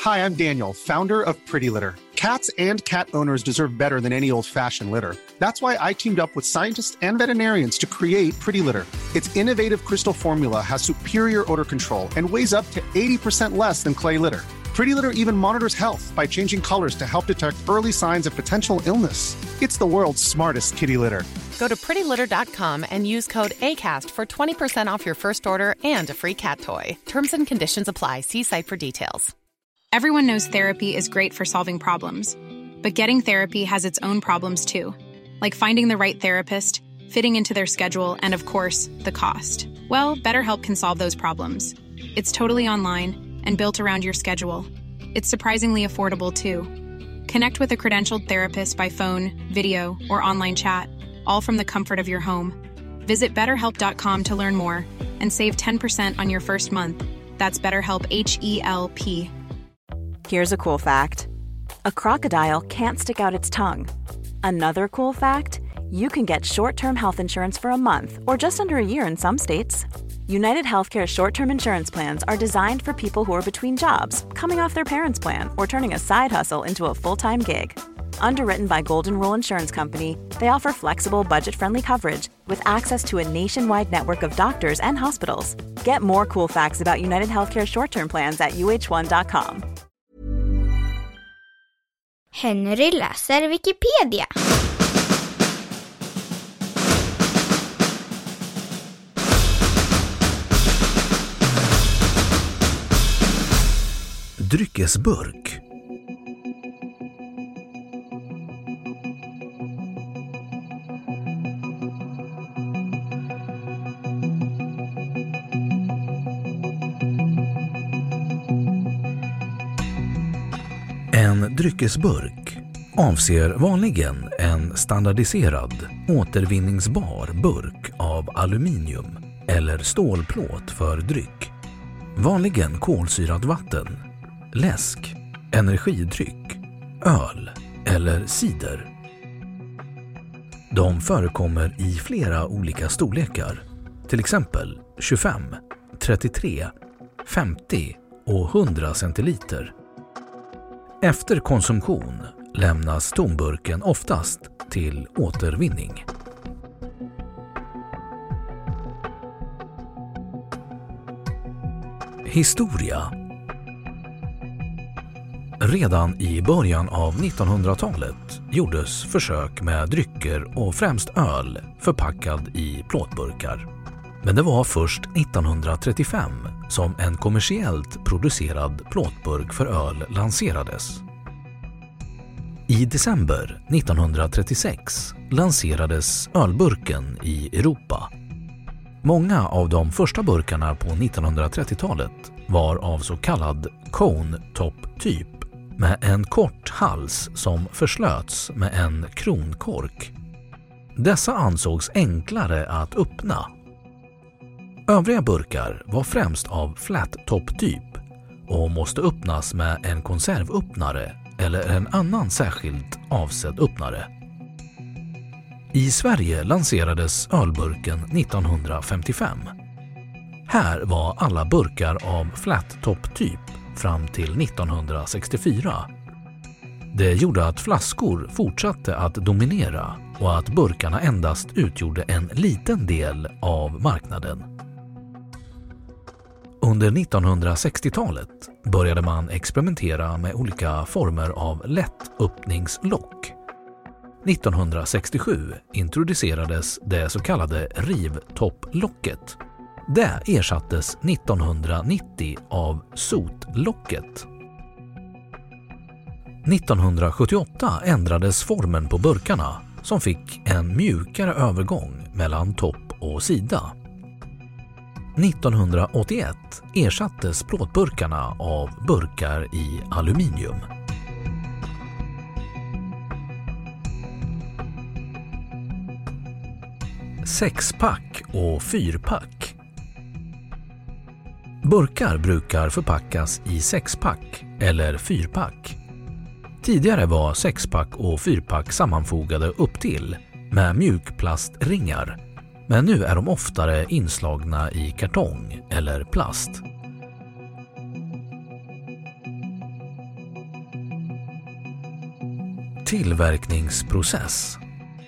Hi, I'm Daniel, founder of Pretty Litter. Cats and cat owners deserve better than any old-fashioned litter. That's why I teamed up with scientists and veterinarians to create Pretty Litter. Its innovative crystal formula has superior odor control and weighs up to 80% less than clay litter. Pretty Litter even monitors health by changing colors to help detect early signs of potential illness. It's the world's smartest kitty litter. Go to prettylitter.com and use code ACAST for 20% off your first order and a free cat toy. Terms and conditions apply. See site for details. Everyone knows therapy is great for solving problems, but getting therapy has its own problems too, like finding the right therapist, fitting into their schedule, and of course, the cost. Well, BetterHelp can solve those problems. It's totally online and built around your schedule. It's surprisingly affordable too. Connect with a credentialed therapist by phone, video, or online chat, all from the comfort of your home. Visit BetterHelp.com to learn more and save 10% on your first month. That's BetterHelp, H-E-L-P. Here's a cool fact. A crocodile can't stick out its tongue. Another cool fact, you can get short-term health insurance for a month or just under a year in some states. United Healthcare short-term insurance plans are designed for people who are between jobs, coming off their parents' plan, or turning a side hustle into a full-time gig. Underwritten by Golden Rule Insurance Company, they offer flexible, budget-friendly coverage with access to a nationwide network of doctors and hospitals. Get more cool facts about United Healthcare short-term plans at uh1.com. Henry läser Wikipedia. Dryckesburk. En dryckesburk avser vanligen en standardiserad, återvinningsbar burk av aluminium eller stålplåt för dryck. Vanligen kolsyrat vatten, läsk, energidryck, öl eller cider. De förekommer i flera olika storlekar, till exempel 25, 33, 50 och 100 centiliter. Efter konsumtion lämnas tomburken oftast till återvinning. Historia. Redan i början av 1900-talet gjordes försök med drycker och främst öl förpackad i plåtburkar. Men det var först 1935 som en kommersiellt producerad plåtburk för öl lanserades. I december 1936 lanserades ölburken i Europa. Många av de första burkarna på 1930-talet var av så kallad cone-top-typ med en kort hals som förslöts med en kronkork. Dessa ansågs enklare att öppna. Övriga burkar var främst av flat-top-typ och måste öppnas med en konservöppnare eller en annan särskilt avsedd öppnare. I Sverige lanserades ölburken 1955. Här var alla burkar av flat-top-typ fram till 1964. Det gjorde att flaskor fortsatte att dominera och att burkarna endast utgjorde en liten del av marknaden. Under 1960-talet började man experimentera med olika former av lättöppningslock. 1967 introducerades det så kallade rivtopplocket. Det ersattes 1990 av sotlocket. 1978 ändrades formen på burkarna som fick en mjukare övergång mellan topp och sida. 1981 ersattes plåtburkarna av burkar i aluminium. Sexpack och fyrpack. Burkar brukar förpackas i sexpack eller fyrpack. Tidigare var sexpack och fyrpack sammanfogade upp till med mjukplastringar, men nu är de oftare inslagna i kartong eller plast. Tillverkningsprocess.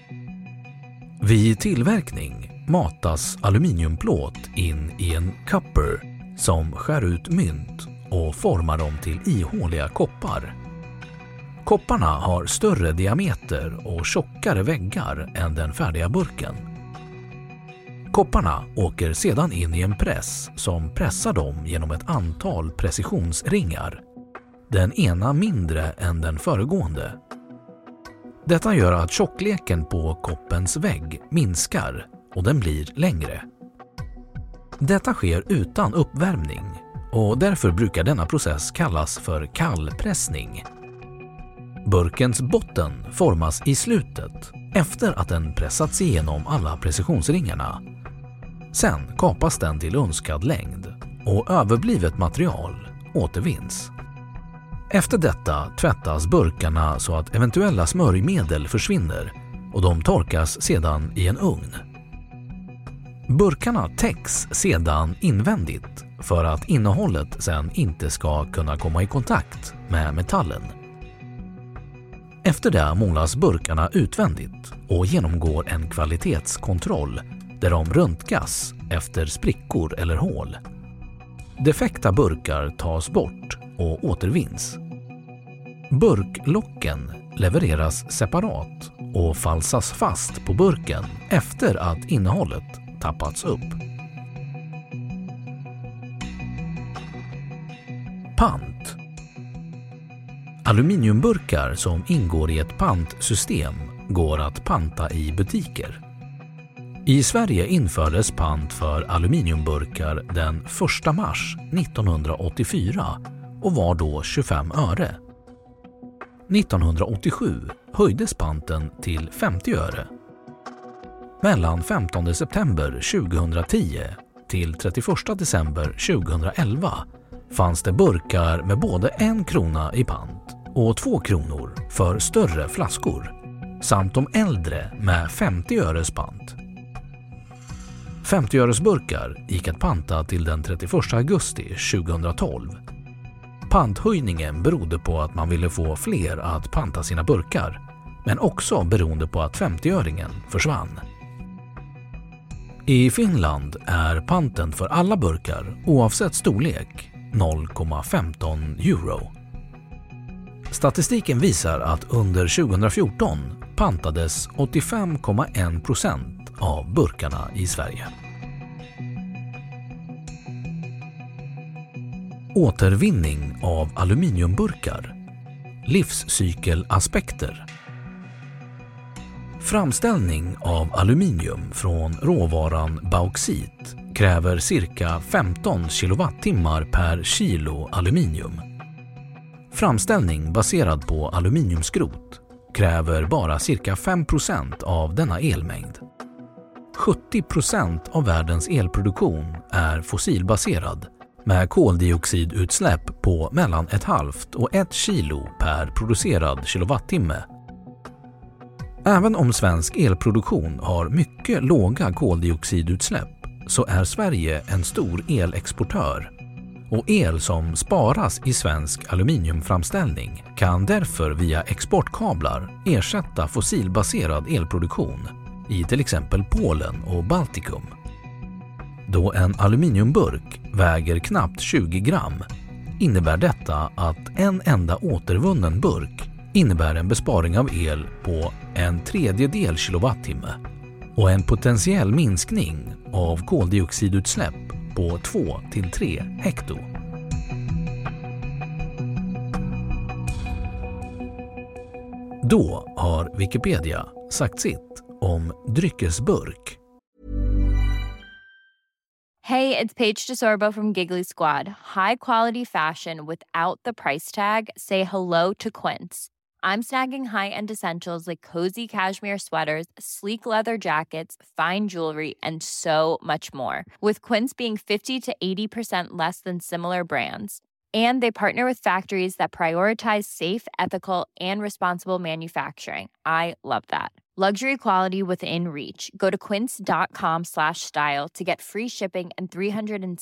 Vid tillverkning matas aluminiumplåt in i en cupper som skär ut mynt och formar dem till ihåliga koppar. Kopparna har större diameter och tjockare väggar än den färdiga burken. Kopparna åker sedan in i en press som pressar dem genom ett antal precisionsringar, den ena mindre än den föregående. Detta gör att tjockleken på koppens vägg minskar och den blir längre. Detta sker utan uppvärmning och därför brukar denna process kallas för kallpressning. Burkens botten formas i slutet efter att den pressats igenom alla precisionsringarna. Sen kapas den till önskad längd och överblivet material återvinns. Efter detta tvättas burkarna så att eventuella smörjmedel försvinner och de torkas sedan i en ugn. Burkarna täcks sedan invändigt för att innehållet sedan inte ska kunna komma i kontakt med metallen. Efter det målas burkarna utvändigt och genomgår en kvalitetskontroll där de röntgas efter sprickor eller hål. Defekta burkar tas bort och återvinns. Burklocken levereras separat och falsas fast på burken efter att innehållet tappats upp. Pant. Aluminiumburkar som ingår i ett pantsystem går att panta i butiker. I Sverige infördes pant för aluminiumburkar den 1 mars 1984 och var då 25 öre. 1987 höjdes panten till 50 öre. Mellan 15 september 2010 till 31 december 2011 fanns det burkar med både 1 krona i pant och 2 kronor för större flaskor samt de äldre med 50 öres pant. 50-öresburkar gick att panta till den 31 augusti 2012. Panthöjningen berodde på att man ville få fler att panta sina burkar, men också beroende på att 50-öringen försvann. I Finland är panten för alla burkar oavsett storlek 0,15 euro. Statistiken visar att under 2014 pantades 85,1% av burkarna i Sverige. Återvinning av aluminiumburkar. Livscykelaspekter. Framställning av aluminium från råvaran bauxit kräver cirka 15 kilowattimmar per kilo aluminium. Framställning baserad på aluminiumskrot kräver bara cirka 5% av denna elmängd. 70% av världens elproduktion är fossilbaserad med koldioxidutsläpp på mellan 0,5 och 1 kilo per producerad kilowattimme. Även om svensk elproduktion har mycket låga koldioxidutsläpp så är Sverige en stor elexportör och el som sparas i svensk aluminiumframställning kan därför via exportkablar ersätta fossilbaserad elproduktion i till exempel Polen och Baltikum. Då en aluminiumburk väger knappt 20 gram innebär detta att en enda återvunnen burk innebär en besparing av el på 1/3 kilowattimme och en potentiell minskning av koldioxidutsläpp på 2-3 hekto. Då har Wikipedia sagt sitt om dryckesburk. Hey, it's Paige DeSorbo from Giggly Squad. High quality fashion without the price tag. Say hello to Quince. I'm snagging high-end essentials like cozy cashmere sweaters, sleek leather jackets, fine jewelry, and so much more. With Quince being 50 to 80% less than similar brands. And they partner with factories that prioritize safe, ethical, and responsible manufacturing. I love that. Luxury quality within reach. Go to quince.com/style to get free shipping and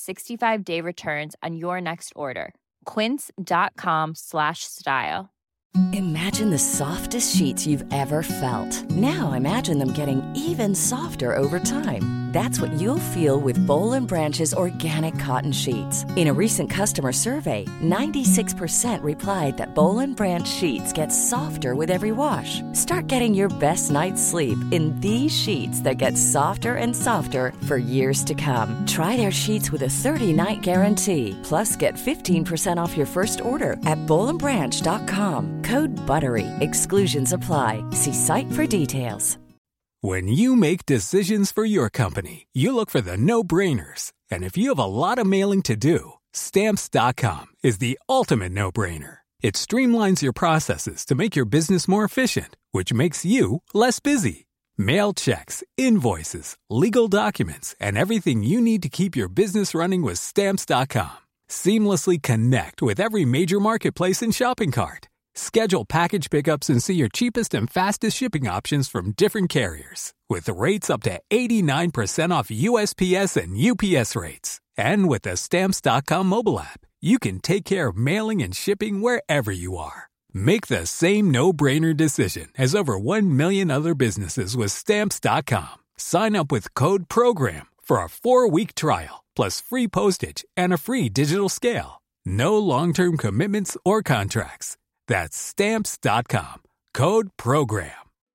365-day returns on your next order. Quince.com/style. Imagine the softest sheets you've ever felt. Now imagine them getting even softer over time. That's what you'll feel with Boll & Branch's organic cotton sheets. In a recent customer survey, 96% replied that Boll & Branch sheets get softer with every wash. Start getting your best night's sleep in these sheets that get softer and softer for years to come. Try their sheets with a 30-night guarantee. Plus, get 15% off your first order at bollandbranch.com. Code BUTTERY. Exclusions apply. See site for details. When you make decisions for your company, you look for the no-brainers. And if you have a lot of mailing to do, Stamps.com is the ultimate no-brainer. It streamlines your processes to make your business more efficient, which makes you less busy. Mail checks, invoices, legal documents, and everything you need to keep your business running with Stamps.com. Seamlessly connect with every major marketplace and shopping cart. Schedule package pickups and see your cheapest and fastest shipping options from different carriers. With rates up to 89% off USPS and UPS rates. And with the Stamps.com mobile app, you can take care of mailing and shipping wherever you are. Make the same no-brainer decision as over 1 million other businesses with Stamps.com. Sign up with code PROGRAM for a 4-week trial, plus free postage and a free digital scale. No long-term commitments or contracts. That's Stamps.com. Code PROGRAM.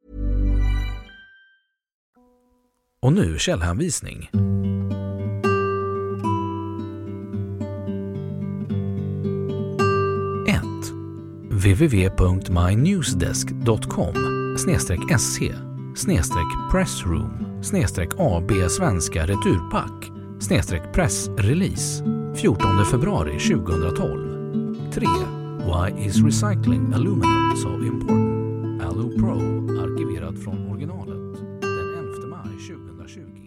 Och nu källhänvisning. 1. www.mynewsdesk.com/se/pressroom/AB Svenska Returpack /pressrelease 14 februari 2012. 3. Why is recycling aluminum so important? Alu Pro arkiverat från originalet den 11 maj 2020.